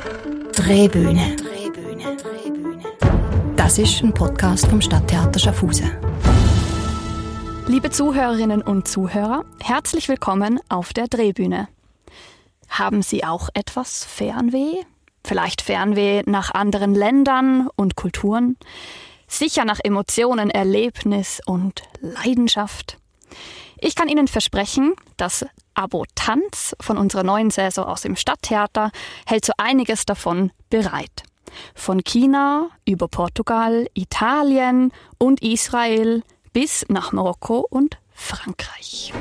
Drehbühne. Das ist ein Podcast vom Stadttheater Schaffhausen. Liebe Zuhörerinnen und Zuhörer, herzlich willkommen auf der Drehbühne. Haben Sie auch etwas Fernweh? Vielleicht Fernweh nach anderen Ländern und Kulturen? Sicher nach Emotionen, Erlebnis und Leidenschaft? Ich kann Ihnen versprechen, das Abo Tanz von unserer neuen Saison aus dem Stadttheater hält so einiges davon bereit. Von China über Portugal, Italien und Israel bis nach Marokko und Frankreich.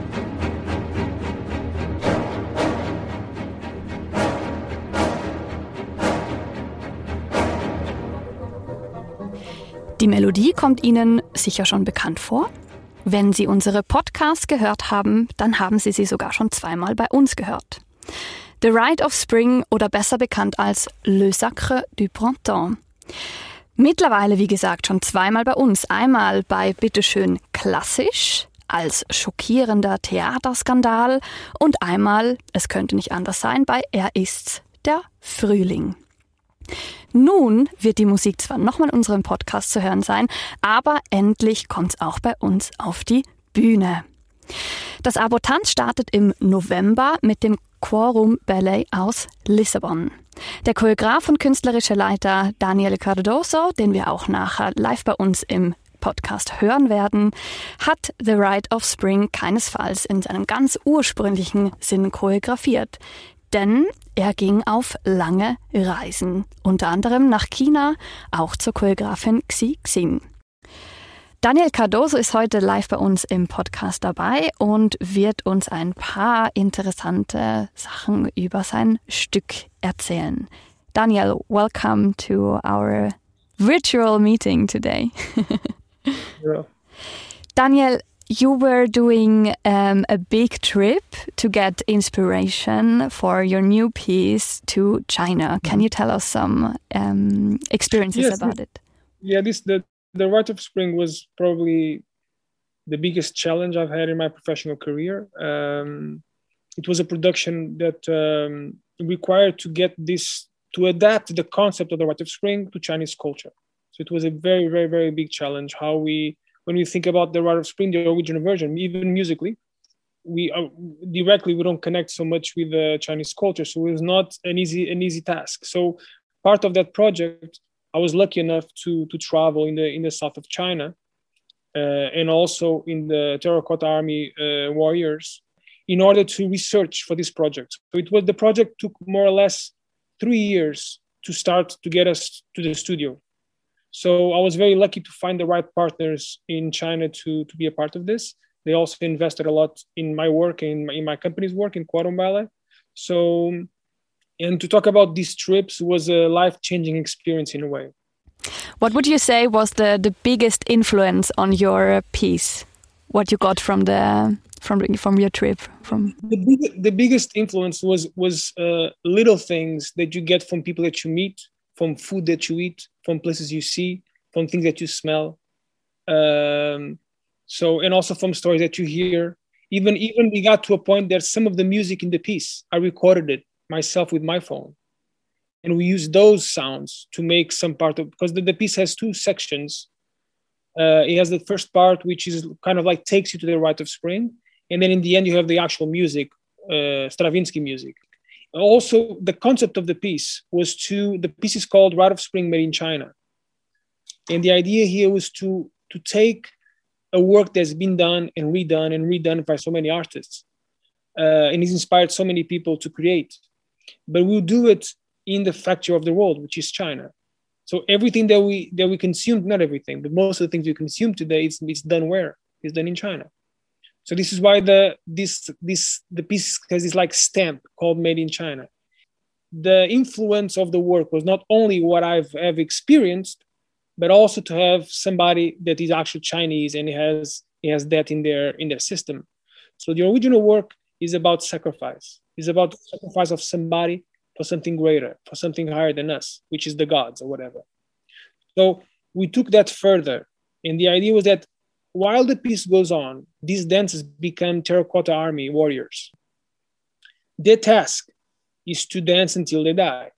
Die Melodie kommt Ihnen sicher schon bekannt vor. Wenn Sie unsere Podcasts gehört haben, dann haben Sie sie sogar schon zweimal bei uns gehört. The Rite of Spring oder besser bekannt als Le Sacre du Printemps. Mittlerweile, wie gesagt, schon zweimal bei uns. Einmal bei Bitteschön klassisch als schockierender Theaterskandal und einmal, es könnte nicht anders sein, bei Er ist's, der Frühling. Nun wird die Musik zwar nochmal in unserem Podcast zu hören sein, aber endlich kommt's auch bei uns auf die Bühne. Das Abo Tanz startet im November mit dem Quorum Ballet aus Lissabon. Der Choreograf und künstlerische Leiter Daniel Cardoso, den wir auch nachher live bei uns im Podcast hören werden, hat The Rite of Spring keinesfalls in seinem ganz ursprünglichen Sinn choreografiert. Denn er ging auf lange Reisen, unter anderem nach China, auch zur Choreografin Xi Xin. Daniel Cardoso ist heute live bei uns im Podcast dabei und wird uns ein paar interessante Sachen über sein Stück erzählen. Daniel, welcome to our virtual meeting today. Yeah. Daniel, you were doing a big trip to get inspiration for your new piece to China. Can you tell us some experiences about it? Yeah, the Rite of Spring was probably the biggest challenge I've had in my professional career. It was a production that required to adapt the concept of the Rite of Spring to Chinese culture. So it was a very, very, very big challenge. When we think about the Rite of Spring, the original version, even musically, we don't connect so much with the Chinese culture. So it was not an easy task. So part of that project, I was lucky enough to travel in the south of China and also in the Terracotta Army warriors in order to research for this project. So the project took more or less 3 years to start to get us to the studio. So I was very lucky to find the right partners in China to be a part of this. They also invested a lot in my work, in my company's work, in Quorum Ballet. So, and to talk about these trips was a life-changing experience in a way. What would you say was the biggest influence on your piece? What you got from your trip? The biggest influence was little things that you get from people that you meet, from food that you eat, from places you see, from things that you smell. And also from stories that you hear. Even we got to a point that some of the music in the piece, I recorded it myself with my phone. And we used those sounds to make some part of, because the piece has two sections. It has the first part, which is kind of like takes you to the Rite of Spring. And then in the end, you have the actual music, Stravinsky music. Also, the concept of the piece the piece is called Rite of Spring Made in China. And the idea here was to take a work that's been done and redone by so many artists. And it's inspired so many people to create. But we'll do it in the factory of the world, which is China. So everything that we consume, not everything, but most of the things we consume today, it's done where? It's done in China. So this is why the piece has this like stamp called Made in China. The influence of the work was not only what have experienced, but also to have somebody that is actually Chinese and he has that in their system. So the original work is about sacrifice. It's about the sacrifice of somebody for something greater, for something higher than us, which is the gods or whatever. So we took that further. And the idea was that while the piece goes on, these dancers become Terracotta Army warriors. Their task is to dance until they die.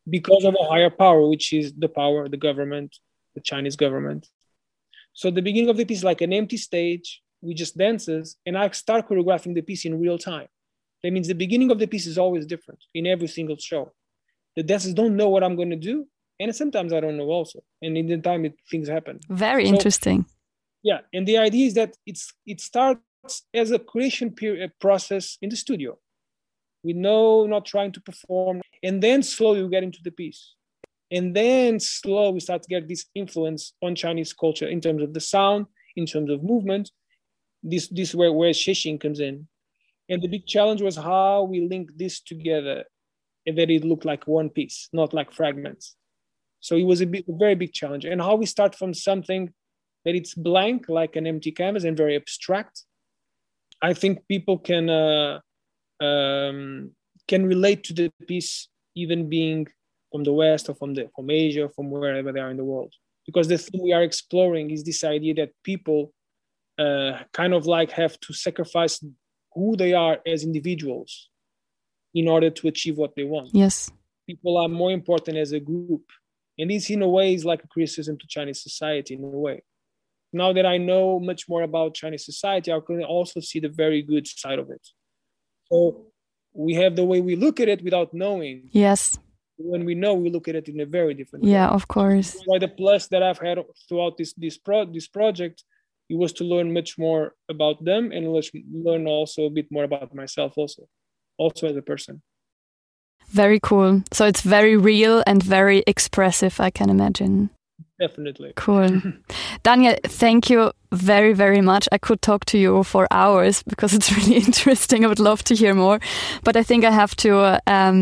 because of a higher power, which is the power, the government, the Chinese government. So the beginning of the piece is like an empty stage. We just dances, and I start choreographing the piece in real time. That means the beginning of the piece is always different in every single show. The dancers don't know what I'm going to do, and sometimes I don't know also. And in the time, things happen. Very interesting. Yeah, and the idea is that it starts as a creation process in the studio. We know, not trying to perform, and then slowly we get into the piece. And then slowly we start to get this influence on Chinese culture in terms of the sound, in terms of movement. This is where Shexing comes in. And the big challenge was how we link this together and that it looked like one piece, not like fragments. So it was a very big challenge. And how we start from something that it's blank, like an empty canvas and very abstract. I think people can relate to the piece, even being from the West or from Asia, from wherever they are in the world. Because the thing we are exploring is this idea that people kind of like have to sacrifice who they are as individuals in order to achieve what they want. Yes. People are more important as a group. And this, in a way, is like a criticism to Chinese society, in a way. Now that I know much more about Chinese society, I can also see the very good side of it. So we have the way we look at it without knowing. Yes. When we know, we look at it in a very different way. Yeah, of course. Why the plus that I've had throughout this project, it was to learn much more about them and learn also a bit more about myself also as a person. Very cool. So it's very real and very expressive, I can imagine. Definitely. Cool. Daniel, thank you very, very much. I could talk to you for hours because it's really interesting. I would love to hear more. But I think I have to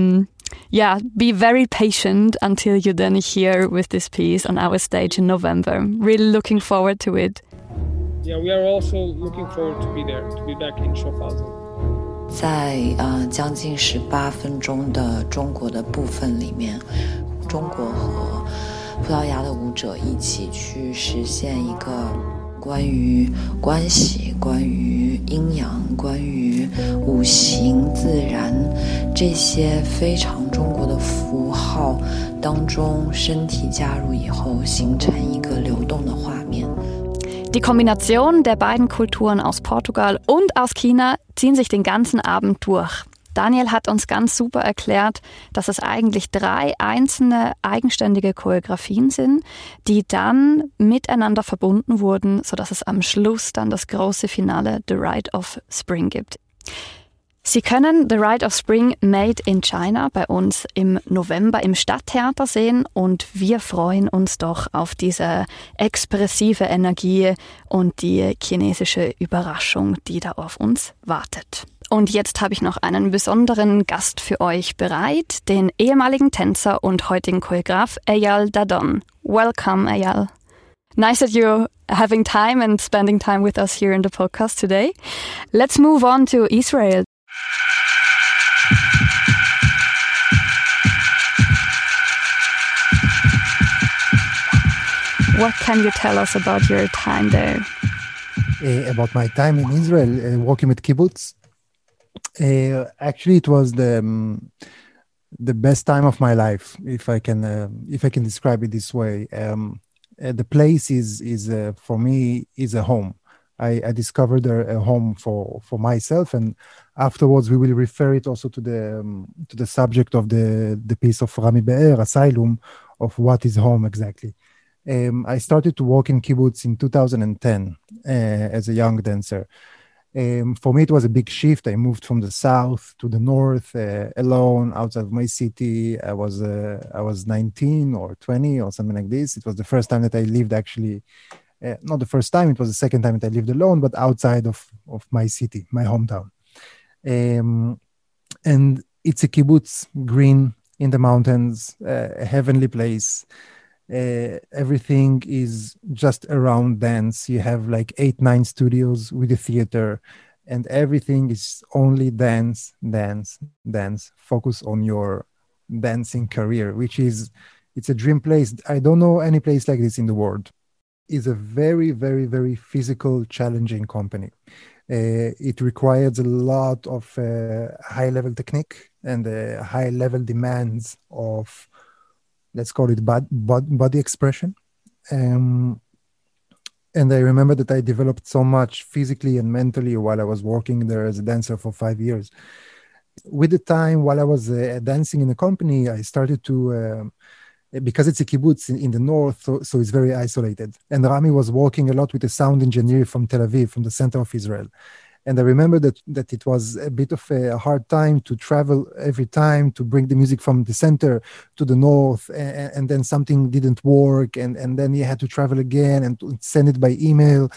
be very patient until you're then here with this piece on our stage in November. Really looking forward to it. Yeah, we are also looking forward to be there, to be back in Schaffhausen. 在将近18分钟的中国的部分里面，中国和葡萄牙的舞者一起去实现一个关于关系、关于阴阳、关于五行、自然这些非常中国的符号当中，身体加入以后，形成一个流动的画面。 Die Kombination der beiden Kulturen aus Portugal und aus China ziehen sich den ganzen Abend durch. Daniel hat uns ganz super erklärt, dass es eigentlich 3 einzelne eigenständige Choreografien sind, die dann miteinander verbunden wurden, sodass es am Schluss dann das große Finale The Rite of Spring gibt. Sie können The Rite of Spring Made in China bei uns im November im Stadttheater sehen und wir freuen uns doch auf diese expressive Energie und die chinesische Überraschung, die da auf uns wartet. Und jetzt habe ich noch einen besonderen Gast für euch bereit, den ehemaligen Tänzer und heutigen Choreograf Eyal Dadon. Welcome, Eyal. Nice that you're having time and spending time with us here in the podcast today. Let's move on to Israel. What can you tell us about your time there? About my time in Israel, working with kibbutz. Actually, it was the best time of my life, if I can describe it this way. The place is for me is a home. I discovered a home for myself, and afterwards we will refer it also to the subject of the piece of Rami Be'er, Asylum, of what is home exactly. I started to work in kibbutz in 2010 as a young dancer. For me, it was a big shift. I moved from the south to the north alone outside of my city. I was 19 or 20 or something like this. It was the first time that I lived actually. Not the first time, it was the second time that I lived alone, but outside of my city, my hometown. And it's a kibbutz, green in the mountains, a heavenly place. Everything is just around dance. You have like 8-9 studios with a theater, and everything is only dance. Focus on your dancing career, it's a dream place. I don't know any place like this in the world. Is a very, very, very physical, challenging company. It requires a lot of high-level technique and high-level demands of let's call it body expression. And I remember that I developed so much physically and mentally while I was working there as a dancer for 5 years. With the time, while I was dancing in a company, I started to, because it's a kibbutz in the north, so it's very isolated. And Rami was working a lot with a sound engineer from Tel Aviv, from the center of Israel. And I remember that it was a bit of a hard time to travel every time to bring the music from the center to the north, and then something didn't work, and then you had to travel again and to send it by email.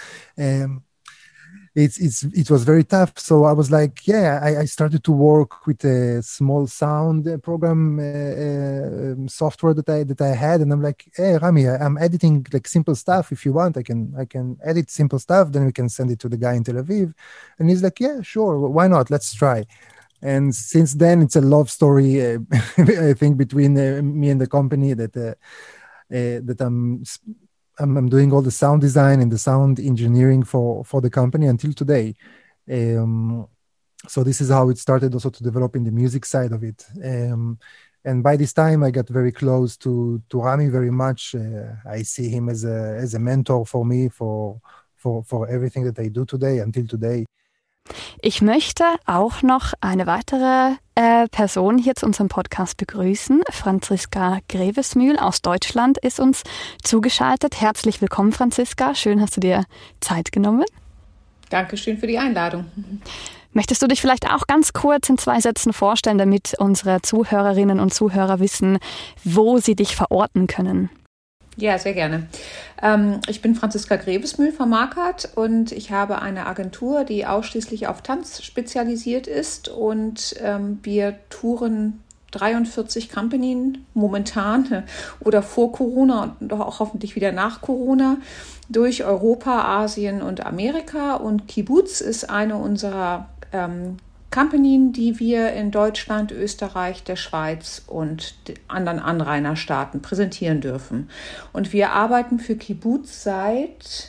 It was very tough. So I was like, I started to work with a small sound program software that I had, and I'm like, hey Rami, I'm editing like simple stuff. If you want, I can edit simple stuff. Then we can send it to the guy in Tel Aviv, and he's like, yeah, sure, why not? Let's try. And since then, it's a love story, I think, between me and the company that I'm doing all the sound design and the sound engineering for the company until today. So this is how it started also to develop in the music side of it. And by this time, I got very close to Rami very much. I see him as a mentor for me for everything that I do today until today. Ich möchte auch noch eine weitere Person hier zu unserem Podcast begrüßen. Franziska Grevesmühl aus Deutschland ist uns zugeschaltet. Herzlich willkommen, Franziska. Schön, hast du dir Zeit genommen. Dankeschön für die Einladung. Möchtest du dich vielleicht auch ganz kurz in 2 Sätzen vorstellen, damit unsere Zuhörerinnen und Zuhörer wissen, wo sie dich verorten können? Ja, sehr gerne. Ich bin Franziska Grevesmühl von Marquardt und ich habe eine Agentur, die ausschließlich auf Tanz spezialisiert ist, und wir touren 43 Compagnen momentan oder vor Corona und auch hoffentlich wieder nach Corona durch Europa, Asien und Amerika, und Kibbutz ist eine unserer Compagnen, die wir in Deutschland, Österreich, der Schweiz und anderen Anrainerstaaten präsentieren dürfen. Und wir arbeiten für Kibbutz seit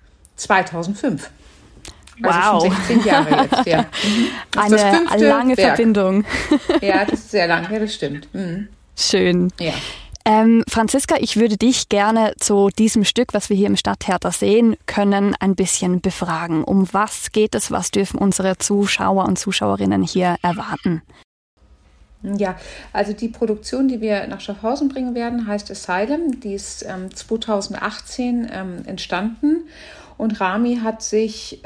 2005. Also wow. schon 16 Jahre jetzt, ja. Eine lange Werk. Verbindung. Ja, das ist sehr lang, ja, das stimmt. Mhm. Schön. Ja. Franziska, ich würde dich gerne zu diesem Stück, was wir hier im Stadttheater sehen können, ein bisschen befragen. Um was geht es? Was dürfen unsere Zuschauer und Zuschauerinnen hier erwarten? Ja, also die Produktion, die wir nach Schaffhausen bringen werden, heißt Asylum. Die ist 2018 entstanden, und Rami hat sich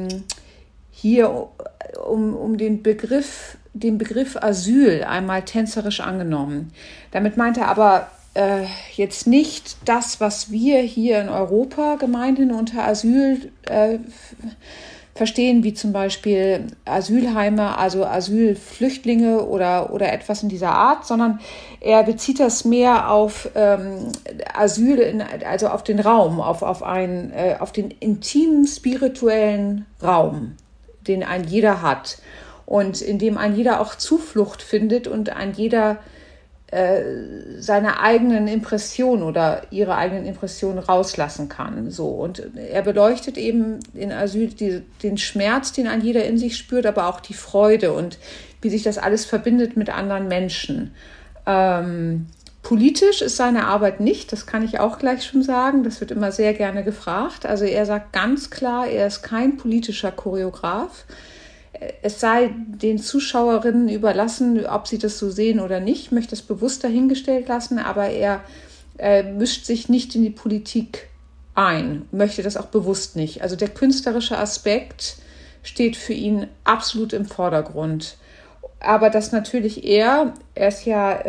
hier um den Begriff Asyl einmal tänzerisch angenommen. Damit meint er aber jetzt nicht das, was wir hier in Europa gemeinhin unter Asyl verstehen, wie zum Beispiel Asylheime, also Asylflüchtlinge oder etwas in dieser Art, sondern er bezieht das mehr auf Asyl, also auf den Raum, auf den intimen spirituellen Raum, den ein jeder hat. Und in dem ein jeder auch Zuflucht findet und ein jeder seine eigenen Impressionen oder ihre eigenen Impressionen rauslassen kann. So. Und er beleuchtet eben in Asyl den Schmerz, den ein jeder in sich spürt, aber auch die Freude und wie sich das alles verbindet mit anderen Menschen. Politisch ist seine Arbeit nicht, das kann ich auch gleich schon sagen. Das wird immer sehr gerne gefragt. Also er sagt ganz klar, er ist kein politischer Choreograf. Es sei den Zuschauerinnen überlassen, ob sie das so sehen oder nicht. Ich möchte das bewusst dahingestellt lassen, aber er mischt sich nicht in die Politik ein, möchte das auch bewusst nicht. Also der künstlerische Aspekt steht für ihn absolut im Vordergrund. Aber dass natürlich er ist ja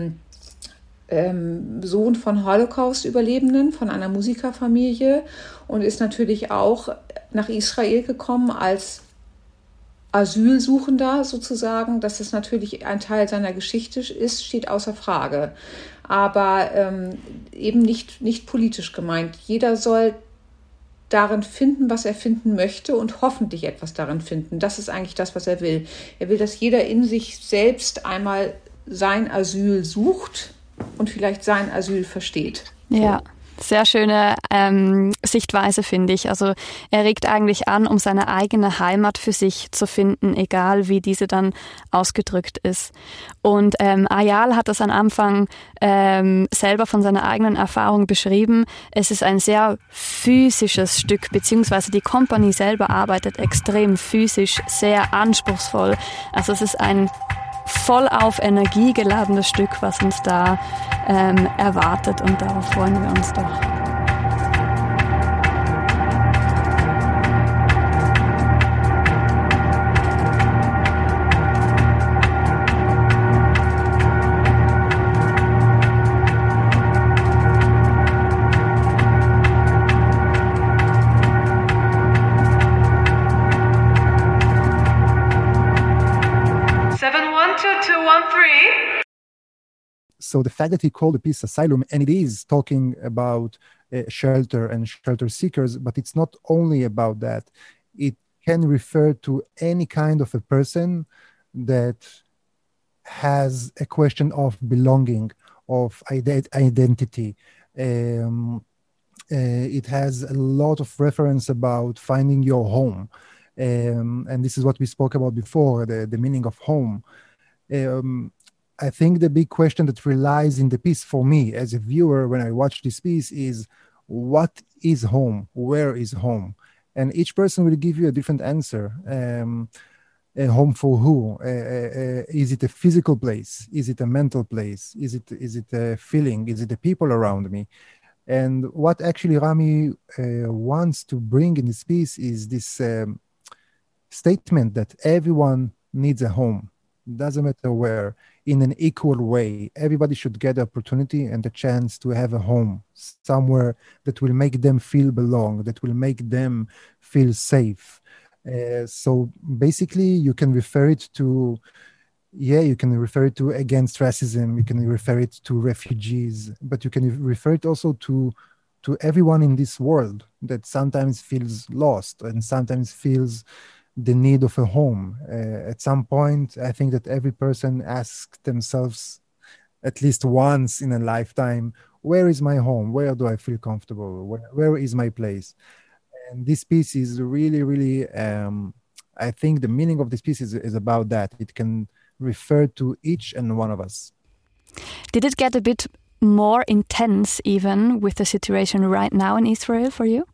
Sohn von Holocaust-Überlebenden, von einer Musikerfamilie, und ist natürlich auch nach Israel gekommen als Asylsuchender sozusagen. Dass es natürlich ein Teil seiner Geschichte ist, steht außer Frage. Aber eben nicht politisch gemeint. Jeder soll darin finden, was er finden möchte, und hoffentlich etwas darin finden. Das ist eigentlich das, was er will. Er will, dass jeder in sich selbst einmal sein Asyl sucht und vielleicht sein Asyl versteht. Ja. Sehr schöne Sichtweise, finde ich. Also er regt eigentlich an, um seine eigene Heimat für sich zu finden, egal wie diese dann ausgedrückt ist. Und Ayal hat das am Anfang selber von seiner eigenen Erfahrung beschrieben. Es ist ein sehr physisches Stück, beziehungsweise die Kompanie selber arbeitet extrem physisch, sehr anspruchsvoll. Also es ist ein voll auf Energie geladenes Stück, was uns da erwartet, und darauf freuen wir uns doch. So the fact that he called the piece Asylum, and it is talking about shelter and shelter seekers, but it's not only about that. It can refer to any kind of a person that has a question of belonging, of identity. It has a lot of reference about finding your home. And this is what we spoke about before, the meaning of home. I think the big question that relies in the piece for me as a viewer when I watch this piece is, what is home? Where is home? And each person will give you a different answer. A home for who? Is it a physical place? Is it a mental place? Is it a feeling? Is it the people around me? And what actually Rami wants to bring in this piece is this statement that everyone needs a home. Doesn't matter where, in an equal way. Everybody should get the opportunity and the chance to have a home, somewhere that will make them feel belong, that will make them feel safe. So basically, you can refer it to, you can refer it to against racism, you can refer it to refugees, but you can refer it also to everyone in this world that sometimes feels lost and sometimes feels the need of a home. At some point, I think that every person asks themselves at least once in a lifetime, where is my home? Where do I feel comfortable? Where is my place? And this piece is really, really, I think the meaning of this piece is about that. It can refer to each and one of us. Did it get a bit more intense even with the situation right now in Israel for you?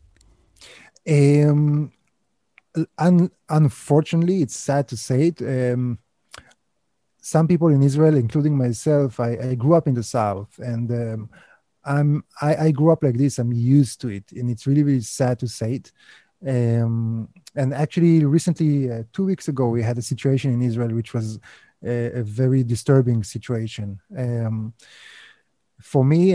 Unfortunately, it's sad to say it. Some people in Israel, including myself, I grew up in the South, and I grew up like this. I'm used to it, and it's really, really sad to say it. And actually, recently, 2 weeks ago, we had a situation in Israel which was a very disturbing situation. For me,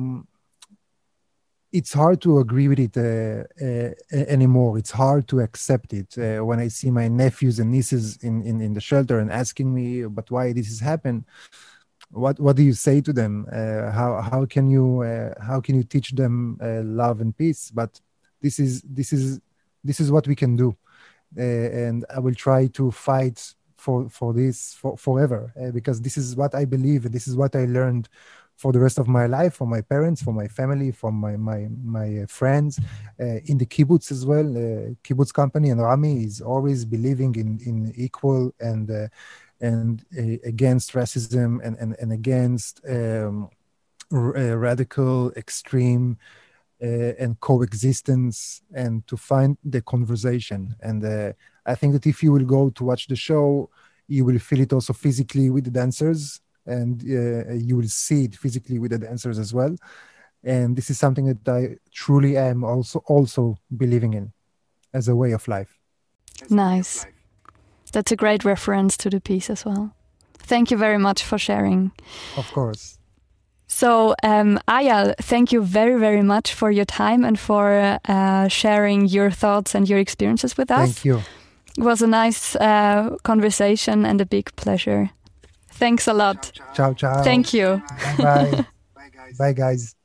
it's hard to agree with it anymore. It's hard to accept it. When I see my nephews and nieces in the shelter and asking me, but why this has happened? What do you say to them? How can you teach them love and peace? But this is what we can do, and I will try to fight for this forever, because this is what I believe, and this is what I learned for the rest of my life, from my parents, from my family, from my friends, in the kibbutz as well. Kibbutz company, and Rami is always believing in equal and against racism and against radical, extreme, and coexistence, and to find the conversation. And I think that if you will go to watch the show, you will feel it also physically with the dancers, and you will see it physically with the dancers as well. And this is something that I truly am also believing in as a way of life. Nice. That's a great reference to the piece as well. Thank you very much for sharing. Of course. So, Ayal, thank you very, very much for your time and for sharing your thoughts and your experiences with us. Thank you. It was a nice conversation and a big pleasure. Thanks a lot. Ciao, ciao. Thank you. Bye. Bye, guys.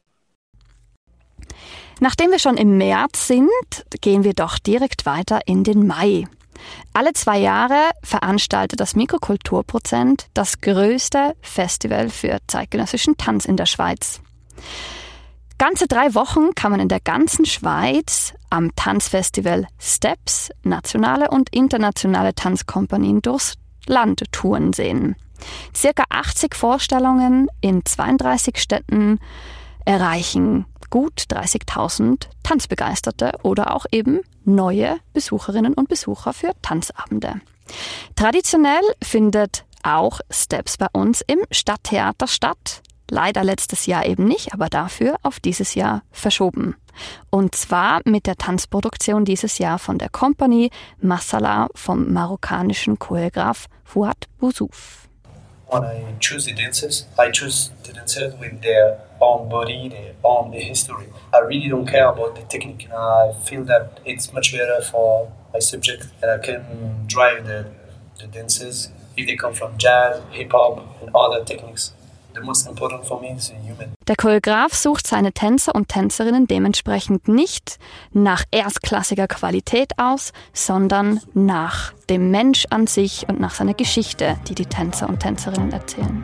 Nachdem wir schon im März sind, gehen wir doch direkt weiter in den Mai. Alle 2 Jahre veranstaltet das Mikrokulturprozent das größte Festival für zeitgenössischen Tanz in der Schweiz. Ganze 3 Wochen kann man in der ganzen Schweiz am Tanzfestival Steps nationale und internationale Tanzkompanien durchs Land touren sehen. Circa 80 Vorstellungen in 32 Städten erreichen gut 30.000 Tanzbegeisterte oder auch eben neue Besucherinnen und Besucher für Tanzabende. Traditionell findet auch Steps bei uns im Stadttheater statt. Leider letztes Jahr eben nicht, aber dafür auf dieses Jahr verschoben. Und zwar mit der Tanzproduktion dieses Jahr von der Compagnie Masala vom marokkanischen Choreograf Fouad Bouzouf. When I choose the dancers with their own body, their own history. I really don't care about the technique. I feel that it's much better for my subject, and I can drive the dancers if they come from jazz, hip-hop and other techniques. The most important for me is human. Der Choreograf sucht seine Tänzer und Tänzerinnen dementsprechend nicht nach erstklassiger Qualität aus, sondern nach dem Mensch an sich und nach seiner Geschichte, die die Tänzer und Tänzerinnen erzählen.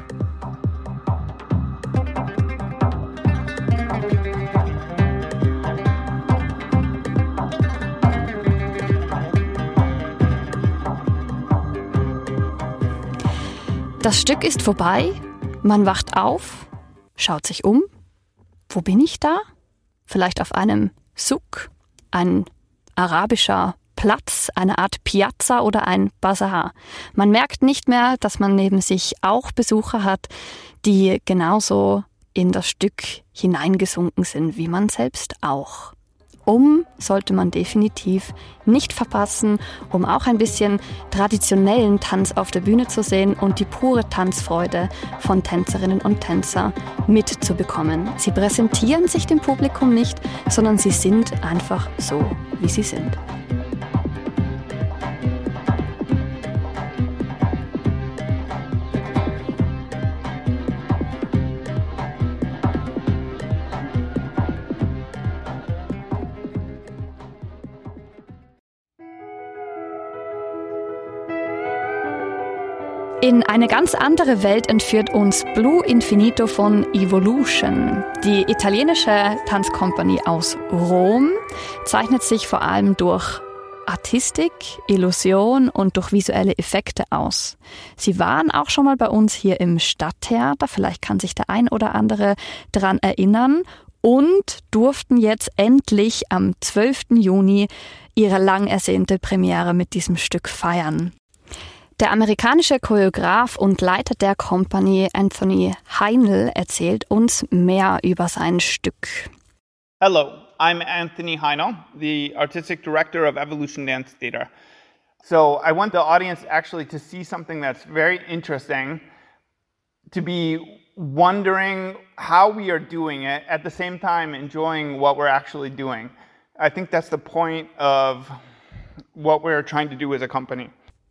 Das Stück ist vorbei. Man wacht auf, schaut sich um. Wo bin ich da? Vielleicht auf einem Souk, ein arabischer Platz, eine Art Piazza oder ein Bazar. Man merkt nicht mehr, dass man neben sich auch Besucher hat, die genauso in das Stück hineingesunken sind, wie man selbst auch. Sollte man definitiv nicht verpassen, um auch ein bisschen traditionellen Tanz auf der Bühne zu sehen und die pure Tanzfreude von Tänzerinnen und Tänzern mitzubekommen. Sie präsentieren sich dem Publikum nicht, sondern sie sind einfach so, wie sie sind. In eine ganz andere Welt entführt uns Blue Infinito von Evolution. Die italienische Tanzkompanie aus Rom zeichnet sich vor allem durch Artistik, Illusion und durch visuelle Effekte aus. Sie waren auch schon mal bei uns hier im Stadttheater, vielleicht kann sich der ein oder andere daran erinnern, und durften jetzt endlich am 12. Juni ihre lang ersehnte Premiere mit diesem Stück feiern. Der amerikanische Choreograf und Leiter der Company Anthony Heinl erzählt uns mehr über sein Stück. Hello, I'm Anthony Heinl, the Artistic Director of Evolution Dance Theater. So I want the audience actually to see something that's very interesting, to be wondering how we are doing it, at the same time enjoying what we're actually doing. I think that's the point of what we're trying to do as a company.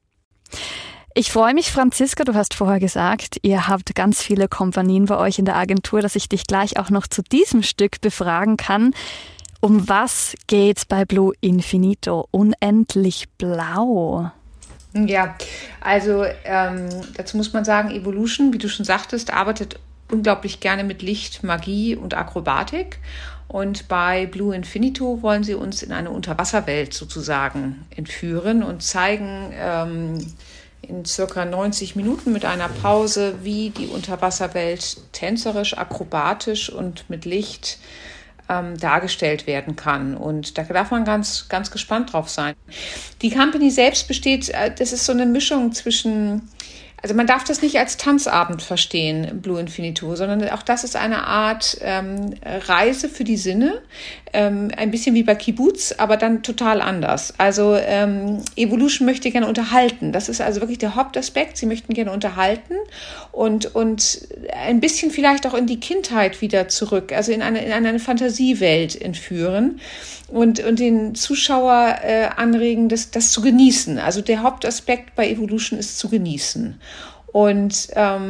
Ich freue mich, Franziska, du hast vorher gesagt, ihr habt ganz viele Kompanien bei euch in der Agentur, dass ich dich gleich auch noch zu diesem Stück befragen kann. Um was geht's bei Blue Infinito? Unendlich blau. Ja, also dazu muss man sagen, Evolution, wie du schon sagtest, arbeitet unglaublich gerne mit Licht, Magie und Akrobatik. Und bei Blue Infinito wollen sie uns in eine Unterwasserwelt sozusagen entführen und zeigen in circa 90 Minuten mit einer Pause, wie die Unterwasserwelt tänzerisch, akrobatisch und mit Licht dargestellt werden kann. Und da darf man ganz, ganz gespannt drauf sein. Die Company selbst besteht, das ist so eine Mischung zwischen, also man darf das nicht als Tanzabend verstehen, Blue Infinito, sondern auch das ist eine Art Reise für die Sinne, ein bisschen wie bei Kibbutz, aber dann total anders. Also Evolution möchte gerne unterhalten. Das ist also wirklich der Hauptaspekt. Sie möchten gerne unterhalten und ein bisschen vielleicht auch in die Kindheit wieder zurück, also in eine Fantasiewelt entführen und den Zuschauer anregen, das zu genießen. Also der Hauptaspekt bei Evolution ist zu genießen. Und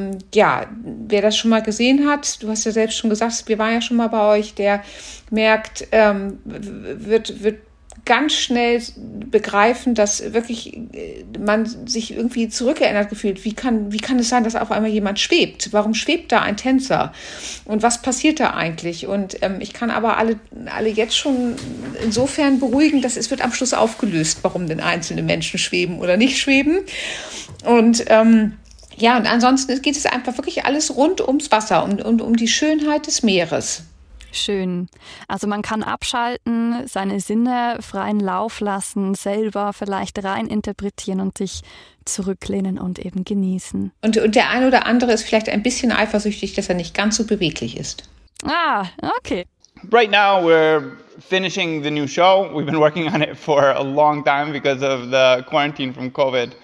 wer das schon mal gesehen hat, du hast ja selbst schon gesagt, wir waren ja schon mal bei euch, der merkt, wird ganz schnell begreifen, dass wirklich man sich irgendwie zurückerinnert gefühlt. Wie kann es sein, dass auf einmal jemand schwebt? Warum schwebt da ein Tänzer? Und was passiert da eigentlich? Und ich kann aber alle jetzt schon insofern beruhigen, dass es wird am Schluss aufgelöst, warum denn einzelne Menschen schweben oder nicht schweben. Und ja, und ansonsten geht es einfach wirklich alles rund ums Wasser und um die Schönheit des Meeres. Schön. Also man kann abschalten, seine Sinne freien Lauf lassen, selber vielleicht rein interpretieren und sich zurücklehnen und eben genießen. Und der eine oder andere ist vielleicht ein bisschen eifersüchtig, dass er nicht ganz so beweglich ist. Ah, okay. Right now we're finishing the new show. We've been working on it for a long time because of the quarantine from COVID.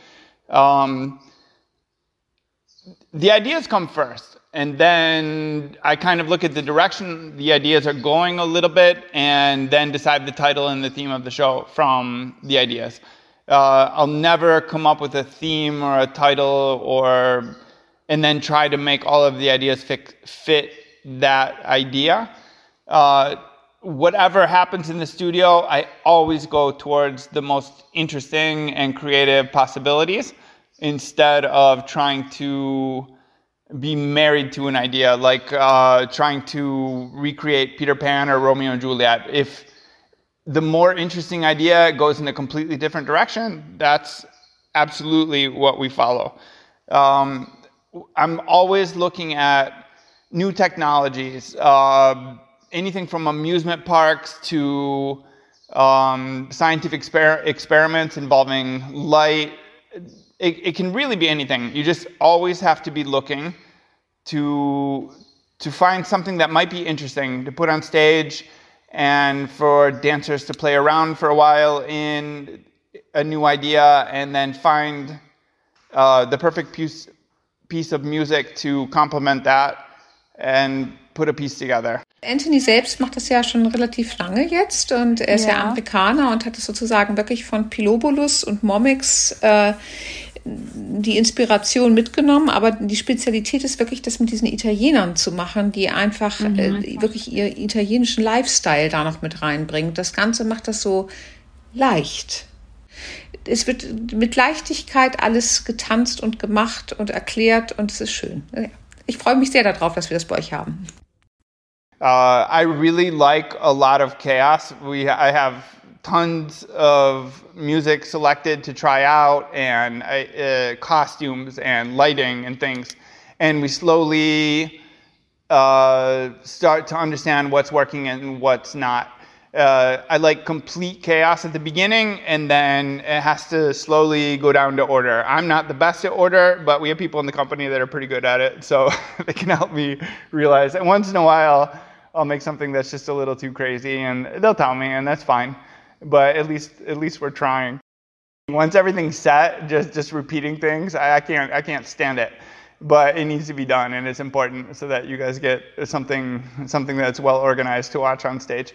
The ideas come first. And then I kind of look at the direction the ideas are going a little bit and then decide the title and the theme of the show from the ideas. I'll never come up with a theme or a title and then try to make all of the ideas fit that idea. Whatever happens in the studio, I always go towards the most interesting and creative possibilities instead of trying to be married to an idea, like trying to recreate Peter Pan or Romeo and Juliet. If the more interesting idea goes in a completely different direction, that's absolutely what we follow. I'm always looking at new technologies, anything from amusement parks to scientific experiments involving light. It can really be anything. You just always have to be looking to find something that might be interesting to put on stage and for dancers to play around for a while in a new idea and then find the perfect piece of music to complement that and put a piece together. Anthony selbst macht das ja schon relativ lange jetzt und er ist ja Amerikaner und hat es sozusagen wirklich von Pilobulus und Momix die Inspiration mitgenommen, aber die Spezialität ist wirklich, das mit diesen Italienern zu machen, die einfach wirklich ihren italienischen Lifestyle da noch mit reinbringen. Das Ganze macht das so leicht. Es wird mit Leichtigkeit alles getanzt und gemacht und erklärt und es ist schön. Ich freue mich sehr darauf, dass wir das bei euch haben. I really like a lot of chaos. I have tons of music selected to try out and costumes and lighting and things. And we slowly start to understand what's working and what's not. I like complete chaos at the beginning, and then it has to slowly go down to order. I'm not the best at order, but we have people in the company that are pretty good at it, so they can help me realize. And once in a while, I'll make something that's just a little too crazy, and they'll tell me, and that's fine. But at least we're trying. Once everything's set, just repeating things, I can't stand it. But it needs to be done, and it's important so that you guys get something that's well organized to watch on stage.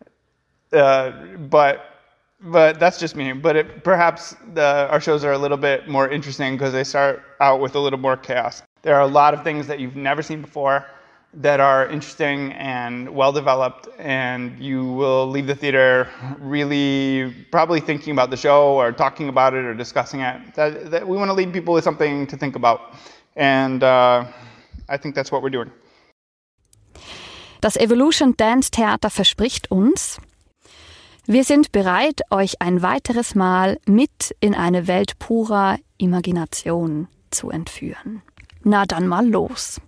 But that's just me. But perhaps our shows are a little bit more interesting because they start out with a little more chaos. There are a lot of things that you've never seen before that are interesting and well developed, and you will leave the theater really probably thinking about the show or talking about it or discussing it. That we want to leave people with something to think about, and I think that's what we're doing. Das Evolution Dance Theater verspricht uns: Wir sind bereit, euch ein weiteres Mal mit in eine Welt purer Imagination zu entführen. Na dann mal los.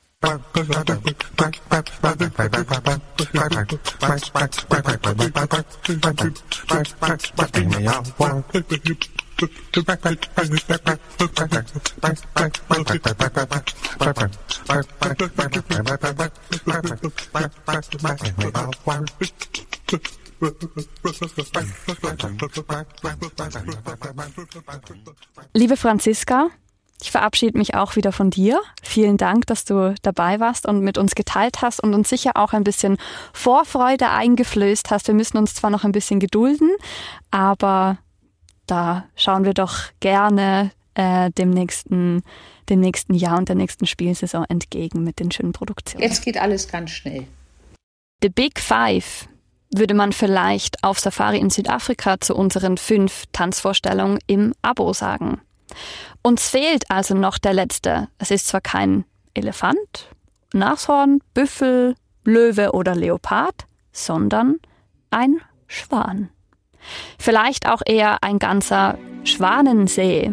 Liebe Franziska, ich verabschiede mich auch wieder von dir. Vielen Dank, dass du dabei warst und mit uns geteilt hast und uns sicher auch ein bisschen Vorfreude eingeflößt hast. Wir müssen uns zwar noch ein bisschen gedulden, aber da schauen wir doch gerne dem nächsten Jahr und der nächsten Spielsaison entgegen mit den schönen Produktionen. Jetzt geht alles ganz schnell. The Big Five. würde man vielleicht auf Safari in Südafrika zu unseren 5 Tanzvorstellungen im Abo sagen. Uns fehlt also noch der letzte. Es ist zwar kein Elefant, Nashorn, Büffel, Löwe oder Leopard, sondern ein Schwan. Vielleicht auch eher ein ganzer Schwanensee.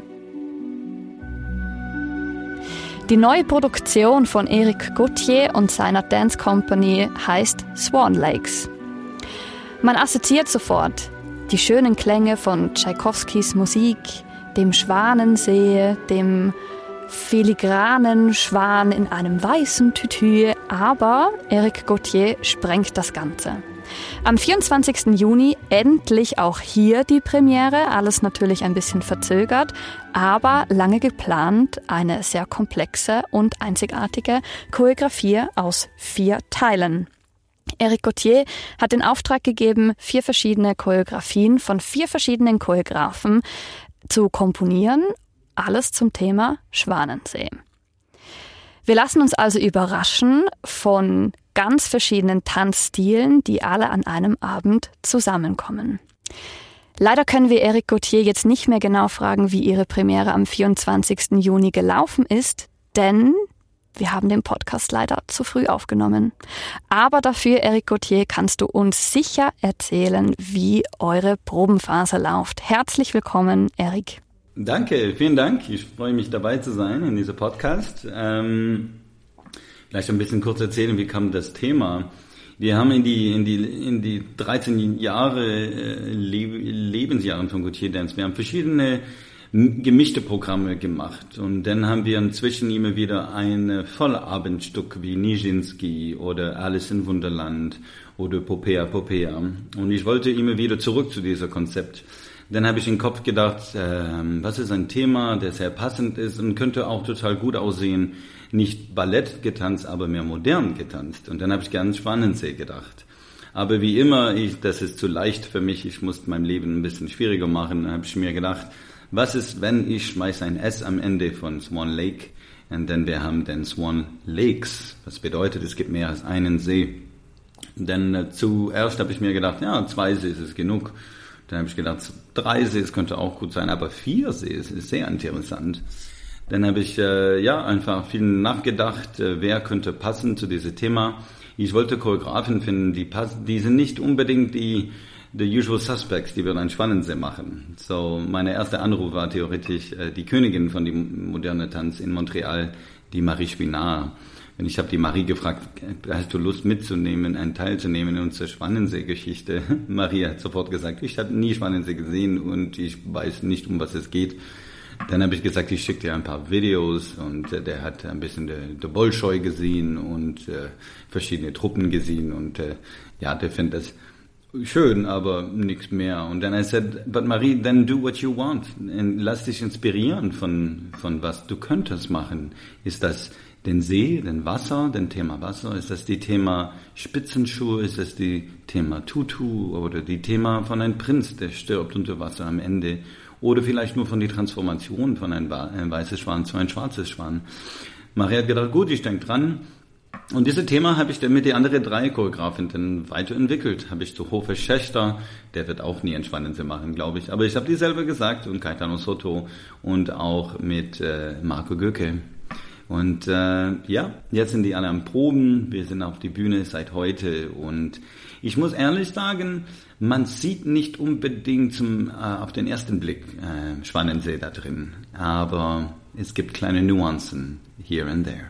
Die neue Produktion von Eric Gauthier und seiner Dance Company heißt Swan Lakes. Man assoziiert sofort die schönen Klänge von Tschaikowskis Musik, dem Schwanensee, dem filigranen Schwan in einem weißen Tütü, aber Eric Gauthier sprengt das Ganze. Am 24. Juni endlich auch hier die Premiere, alles natürlich ein bisschen verzögert, aber lange geplant, eine sehr komplexe und einzigartige Choreografie aus 4 Teilen. Eric Gauthier hat den Auftrag gegeben, 4 verschiedene Choreografien von 4 verschiedenen Choreografen zu komponieren, alles zum Thema Schwanensee. Wir lassen uns also überraschen von ganz verschiedenen Tanzstilen, die alle an einem Abend zusammenkommen. Leider können wir Eric Gauthier jetzt nicht mehr genau fragen, wie ihre Premiere am 24. Juni gelaufen ist, denn wir haben den Podcast leider zu früh aufgenommen. Aber dafür, Eric Gauthier, kannst du uns sicher erzählen, wie eure Probenphase läuft. Herzlich willkommen, Eric. Danke, vielen Dank. Ich freue mich, dabei zu sein in diesem Podcast. Vielleicht ein bisschen kurz erzählen, wie kam das Thema. Wir haben in die 13 Jahre Lebensjahren von Gauthier Dance, wir haben verschiedene gemischte Programme gemacht. Und dann haben wir inzwischen immer wieder ein Vollabendstück wie Nijinsky oder Alice in Wunderland oder Popea. Und ich wollte immer wieder zurück zu diesem Konzept. Dann habe ich im Kopf gedacht, was ist ein Thema, das sehr passend ist und könnte auch total gut aussehen. Nicht Ballett getanzt, aber mehr modern getanzt. Und dann habe ich gerne Schwanensee gedacht. Aber wie immer, das ist zu leicht für mich, ich muss mein Leben ein bisschen schwieriger machen. Dann habe ich mir gedacht, was ist, wenn ich schmeiße ein S am Ende von Swan Lake und dann wir haben dann Swan Lakes. Was bedeutet, es gibt mehr als einen See. Dann zuerst habe ich mir gedacht, 2 Sees ist genug. Dann habe ich gedacht, 3 Sees könnte auch gut sein, aber 4 Sees ist sehr interessant. Dann habe ich einfach viel nachgedacht, wer könnte passen zu diesem Thema. Ich wollte Choreografen finden, die sind nicht unbedingt the usual suspects, die würden einen Schwanensee machen. So, mein erster Anruf war theoretisch die Königin von dem modernen Tanz in Montreal, die Marie Spinard. Und ich habe die Marie gefragt, hast du Lust mitzunehmen, einen teilzunehmen in unserer Schwanensee-Geschichte? Marie hat sofort gesagt, ich habe nie Schwanensee gesehen und ich weiß nicht, um was es geht. Dann habe ich gesagt, ich schicke dir ein paar Videos und der hat ein bisschen der Bolschoi gesehen und verschiedene Truppen gesehen und der findet das schön, aber nichts mehr. Und dann I said, but Marie, then do what you want. Und lass dich inspirieren von was du könntest machen. Ist das den See, den Wasser, den Thema Wasser? Ist das die Thema Spitzenschuhe? Ist das die Thema Tutu? Oder die Thema von einem Prinz, der stirbt unter Wasser am Ende? Oder vielleicht nur von der Transformation von einem weißes Schwan zu einem schwarzes Schwan. Maria hat gedacht, gut, ich denke dran. Und dieses Thema habe ich dann mit den anderen 3 Choreografen dann weiterentwickelt. Habe ich zu Hofer Schächter, der wird auch nie einen Schwanensee machen, glaube ich. Aber ich habe die selber gesagt und Caetano Soto und auch mit Marco Göke. Und jetzt sind die alle am Proben. Wir sind auf die Bühne seit heute und ich muss ehrlich sagen, man sieht nicht unbedingt auf den ersten Blick Schwanensee da drin, aber es gibt kleine Nuancen here and there.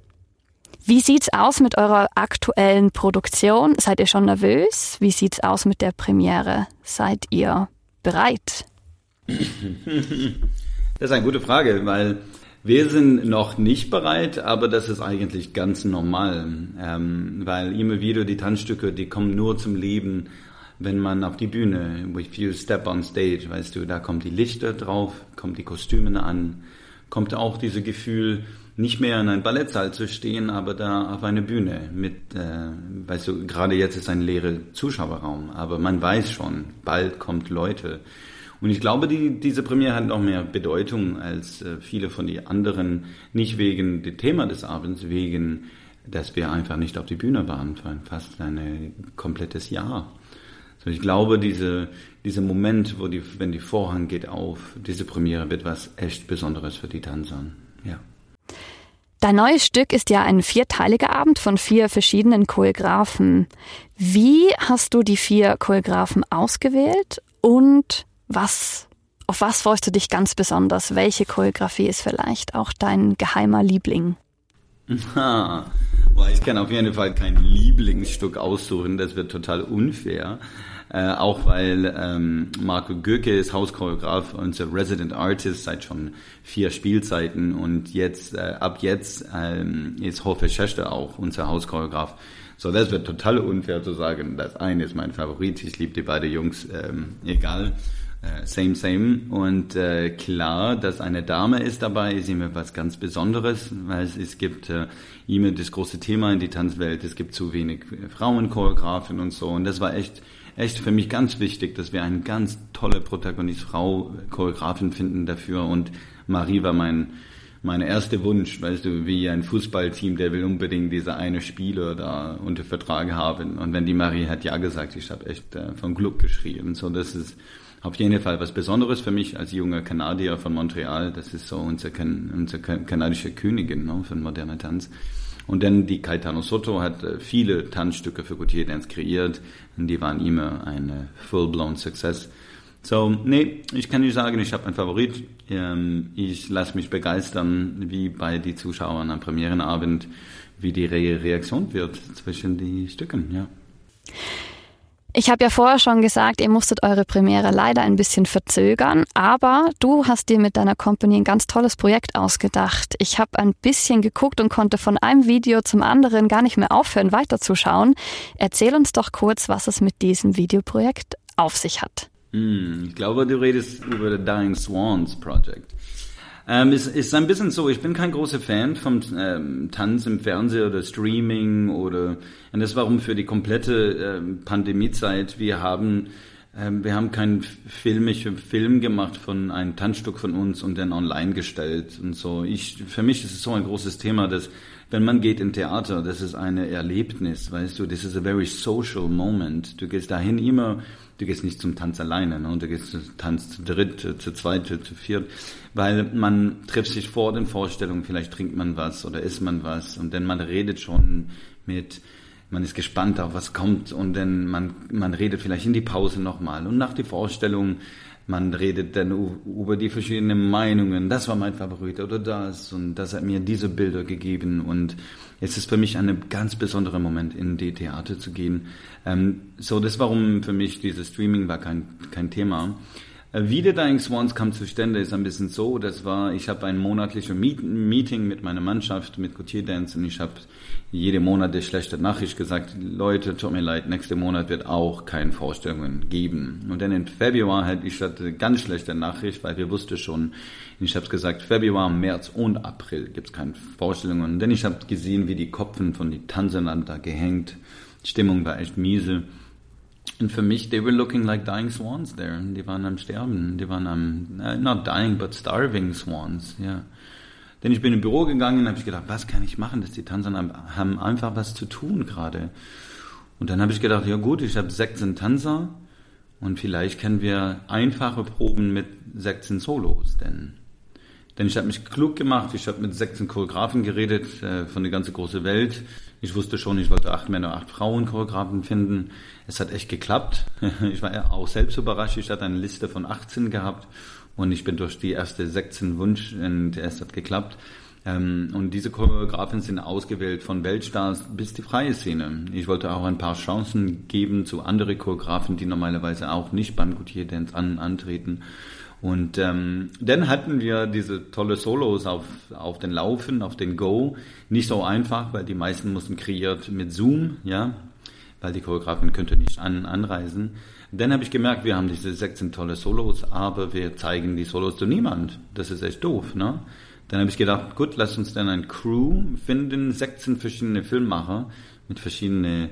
Wie sieht's aus mit eurer aktuellen Produktion? Seid ihr schon nervös? Wie sieht's aus mit der Premiere? Seid ihr bereit? Das ist eine gute Frage, weil wir sind noch nicht bereit, aber das ist eigentlich ganz normal, weil immer wieder die Tanzstücke, die kommen nur zum Leben, wenn man auf die Bühne, if you step on stage, weißt du, da kommen die Lichter drauf, kommen die Kostüme an, kommt auch dieses Gefühl, nicht mehr in einem Ballettsaal zu stehen, aber da auf einer Bühne mit, weißt du, gerade jetzt ist ein leerer Zuschauerraum, aber man weiß schon, bald kommt Leute. Und ich glaube, diese Premiere hat noch mehr Bedeutung als viele von den anderen, nicht wegen dem Thema des Abends, wegen dass wir einfach nicht auf die Bühne waren für fast ein komplettes Jahr. So, ich glaube, dieser Moment, wenn die Vorhang geht auf, diese Premiere wird was echt Besonderes für die Tänzer. Ja. Dein neues Stück ist ja ein 4-teiliger Abend von 4 verschiedenen Choreografen. Wie hast du die 4 Choreografen ausgewählt und auf was freust du dich ganz besonders? Welche Choreografie ist vielleicht auch dein geheimer Liebling? Ich kann auf jeden Fall kein Lieblingsstück aussuchen, das wird total unfair. Auch weil Marco Göke ist Hauschoreograf, unser Resident Artist seit schon 4 Spielzeiten und ab jetzt ist Hofe Schächter auch unser Hauschoreograf. So, das wird total unfair zu sagen, das eine ist mein Favorit, ich liebe die beiden Jungs, egal. Same. Und klar, dass eine Dame ist dabei, ist immer was ganz Besonderes, weil es gibt immer das große Thema in die Tanzwelt, es gibt zu wenig Frauenchoreografen und so. Und das war echt für mich ganz wichtig, dass wir eine ganz tolle Protagonist, Frau, Choreografin finden dafür. Und Marie war mein erster Wunsch, weißt du, wie ein Fußballteam, der will unbedingt diese eine Spieler da unter Vertrag haben. Und wenn die Marie hat ja gesagt, ich habe echt vom Glück geschrien. So, das ist auf jeden Fall was Besonderes für mich als junger Kanadier von Montreal. Das ist so unsere kanadische Königin, ne, von moderner Tanz. Und dann die Caetano Soto hat viele Tanzstücke für Gautier Dance kreiert und die waren immer ein full-blown Success. So, nee, ich kann nicht sagen, ich habe einen Favorit. Ich lasse mich begeistern, wie bei den Zuschauern am Premierenabend, wie die Reaktion wird zwischen die Stücken, ja. Ich habe ja vorher schon gesagt, ihr musstet eure Premiere leider ein bisschen verzögern, aber du hast dir mit deiner Company ein ganz tolles Projekt ausgedacht. Ich habe ein bisschen geguckt und konnte von einem Video zum anderen gar nicht mehr aufhören, weiterzuschauen. Erzähl uns doch kurz, was es mit diesem Videoprojekt auf sich hat. Ich glaube, du redest über das Dying Swans Project. Es ist ein bisschen so, ich bin kein großer Fan vom Tanz im Fernsehen oder Streaming und das warum für die komplette Pandemiezeit wir haben keinen Film gemacht von einem Tanzstück von uns und dann online gestellt und so. Für mich ist es so ein großes Thema, dass wenn man geht in Theater, das ist ein Erlebnis, weißt du, this is a very social moment. Du gehst dahin du gehst nicht zum Tanz alleine, ne? Du gehst zum Tanz zu dritt, zu zweit, zu viert, weil man trifft sich vor den Vorstellungen, vielleicht trinkt man was oder isst man was und dann man redet schon man ist gespannt auf was kommt und dann man redet vielleicht in die Pause nochmal und nach der Vorstellung man redet dann über die verschiedenen Meinungen, das war mein Favorit oder das und das hat mir diese Bilder gegeben und es ist für mich ein ganz besonderer Moment, in die Theater zu gehen. So, das warum für mich dieses Streaming war kein Thema. Wie der Dying Swans kam zustande, ist ein bisschen so, ich habe ein monatliches Meeting mit meiner Mannschaft, mit Gautier Dance und ich habe jede Monat eine schlechte Nachricht gesagt, Leute, tut mir leid, nächsten Monat wird auch keine Vorstellungen geben. Und dann im Februar hatte ich eine ganz schlechte Nachricht, weil wir wussten schon, ich habe gesagt, Februar, März und April gibt es keine Vorstellungen. Und dann ich habe gesehen, wie die Köpfen von den Tanzern da gehängt, die Stimmung war echt miese. Und für mich, they were looking like dying swans there. Die waren am Sterben. Die waren not dying, but starving swans, ja. Yeah. Denn ich bin im Büro gegangen und habe ich gedacht, was kann ich machen, dass die Tanzer haben einfach was zu tun gerade. Und dann habe ich gedacht, ja gut, ich habe 16 Tanzer und vielleicht können wir einfache Proben mit 16 Solos, denn ich habe mich klug gemacht, ich habe mit 16 Choreografen geredet von der ganzen großen Welt. Ich wusste schon, ich wollte 8 Männer, 8 Frauen Choreografen finden. Es hat echt geklappt. Ich war auch selbst überrascht, ich hatte eine Liste von 18 gehabt. Und ich bin durch die erste 16 Wunsch und es hat geklappt. Und diese Choreografen sind ausgewählt von Weltstars bis die freie Szene. Ich wollte auch ein paar Chancen geben zu anderen Choreografen, die normalerweise auch nicht beim Gautier Dance antreten. Und dann hatten wir diese tolle Solos auf den Laufen, auf den Go. Nicht so einfach, weil die meisten mussten kreiert mit Zoom, ja, weil die Choreografen könnten nicht anreisen. Dann habe ich gemerkt, wir haben diese 16 tolle Solos, aber wir zeigen die Solos zu niemand. Das ist echt doof, ne? Dann habe ich gedacht, gut, lass uns dann ein Crew finden, 16 verschiedene Filmemacher mit verschiedenen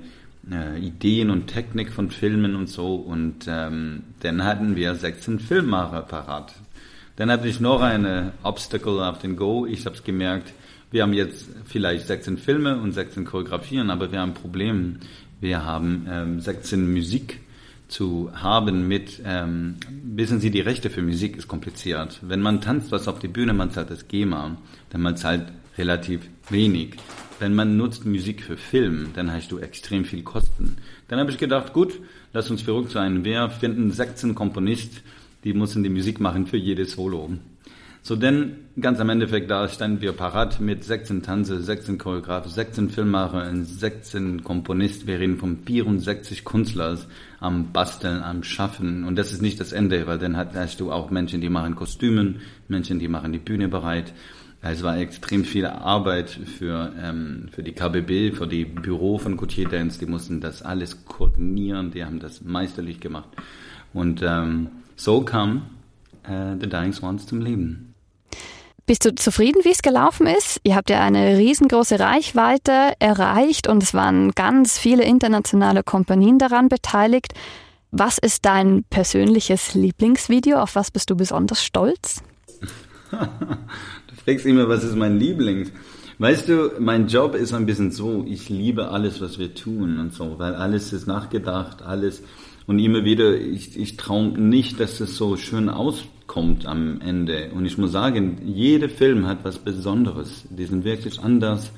Ideen und Technik von Filmen und so. Und dann hatten wir 16 Filmemacher parat. Dann hatte ich noch eine Obstacle auf den Go. Ich habe es gemerkt, Wir haben jetzt vielleicht 16 Filme und 16 Choreografien, aber wir haben ein Problem. Wir haben 16 Musik zu haben mit, wissen Sie, die Rechte für Musik ist kompliziert. Wenn man tanzt was auf die Bühne, man zahlt das GEMA, dann man zahlt relativ wenig. Wenn man nutzt Musik für Film, dann hast du extrem viel Kosten. Dann habe ich gedacht, gut, lass uns verrückt sein. Wir finden 16 Komponisten, die müssen die Musik machen für jedes Solo. So, denn ganz am Endeffekt, da standen wir parat mit 16 Tanze, 16 Choreografen, 16 Filmemacher und 16 Komponisten. Wir reden von 64 Künstlern am Basteln, am Schaffen. Und das ist nicht das Ende, weil dann hast du auch Menschen, die machen Kostümen, Menschen, die machen die Bühne bereit. Es war extrem viel Arbeit für die KBB, für die Büro von Gautier Dance. Die mussten das alles koordinieren, die haben das meisterlich gemacht. Und so kam The Dying Swans zum Leben. Bist du zufrieden, wie es gelaufen ist? Ihr habt ja eine riesengroße Reichweite erreicht und es waren ganz viele internationale Kompanien daran beteiligt. Was ist dein persönliches Lieblingsvideo? Auf was bist du besonders stolz? Du fragst immer, was ist mein Lieblings? Weißt du, mein Job ist ein bisschen so, ich liebe alles, was wir tun und so, weil alles ist nachgedacht, alles. Und immer wieder, ich traue nicht, dass es so schön auskommt am Ende. Und ich muss sagen, jeder Film hat was Besonderes. Die sind wirklich anders.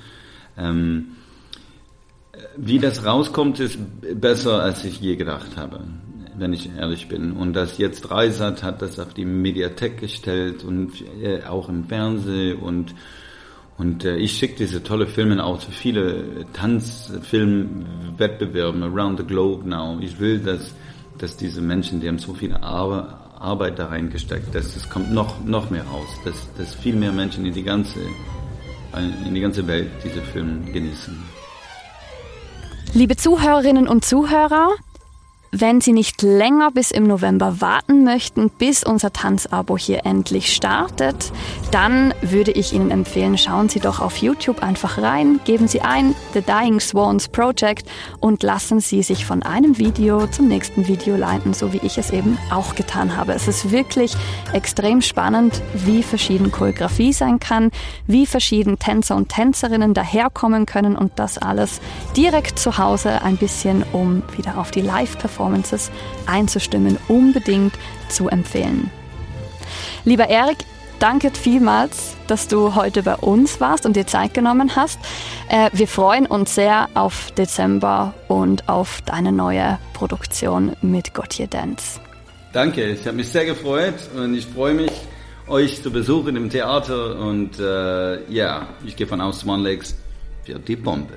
Wie das rauskommt, ist besser, als ich je gedacht habe, wenn ich ehrlich bin. Und das jetzt Dreisat hat das auf die Mediathek gestellt und auch im Fernsehen und ich schicke diese tolle Filme auch zu viele Tanzfilmwettbewerben around the globe now. Ich will, dass diese Menschen, die haben so viel Arbeit da reingesteckt, dass es kommt noch mehr raus, dass viel mehr Menschen in die ganze Welt diese Filme genießen. Liebe Zuhörerinnen und Zuhörer, wenn Sie nicht länger bis im November warten möchten, bis unser Tanzabo hier endlich startet, dann würde ich Ihnen empfehlen, schauen Sie doch auf YouTube einfach rein, geben Sie ein The Dying Swans Project und lassen Sie sich von einem Video zum nächsten Video leiten, so wie ich es eben auch getan habe. Es ist wirklich extrem spannend, wie verschieden Choreografie sein kann, wie verschieden Tänzer und Tänzerinnen daherkommen können und das alles direkt zu Hause ein bisschen, um wieder auf die Live-Performance einzustimmen, unbedingt zu empfehlen. Lieber Erik, danke vielmals, dass du heute bei uns warst und dir Zeit genommen hast. Wir freuen uns sehr auf Dezember und auf deine neue Produktion mit Gautier Dance. Danke, ich habe mich sehr gefreut und ich freue mich, euch zu besuchen im Theater und ich gehe von aus, Swan Lakes wird die Bombe.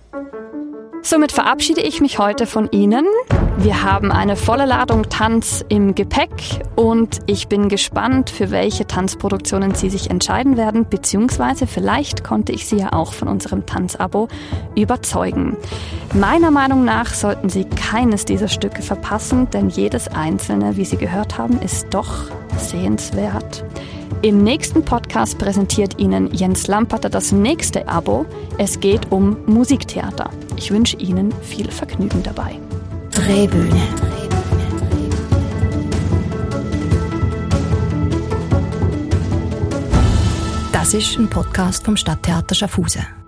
Somit verabschiede ich mich heute von Ihnen. Wir haben eine volle Ladung Tanz im Gepäck und ich bin gespannt, für welche Tanzproduktionen Sie sich entscheiden werden, beziehungsweise vielleicht konnte ich Sie ja auch von unserem Tanzabo überzeugen. Meiner Meinung nach sollten Sie keines dieser Stücke verpassen, denn jedes einzelne, wie Sie gehört haben, ist doch sehenswert. Im nächsten Podcast präsentiert Ihnen Jens Lamperter das nächste Abo. Es geht um Musiktheater. Ich wünsche Ihnen viel Vergnügen dabei. Drehbühne. Das ist ein Podcast vom Stadttheater Schaffhausen.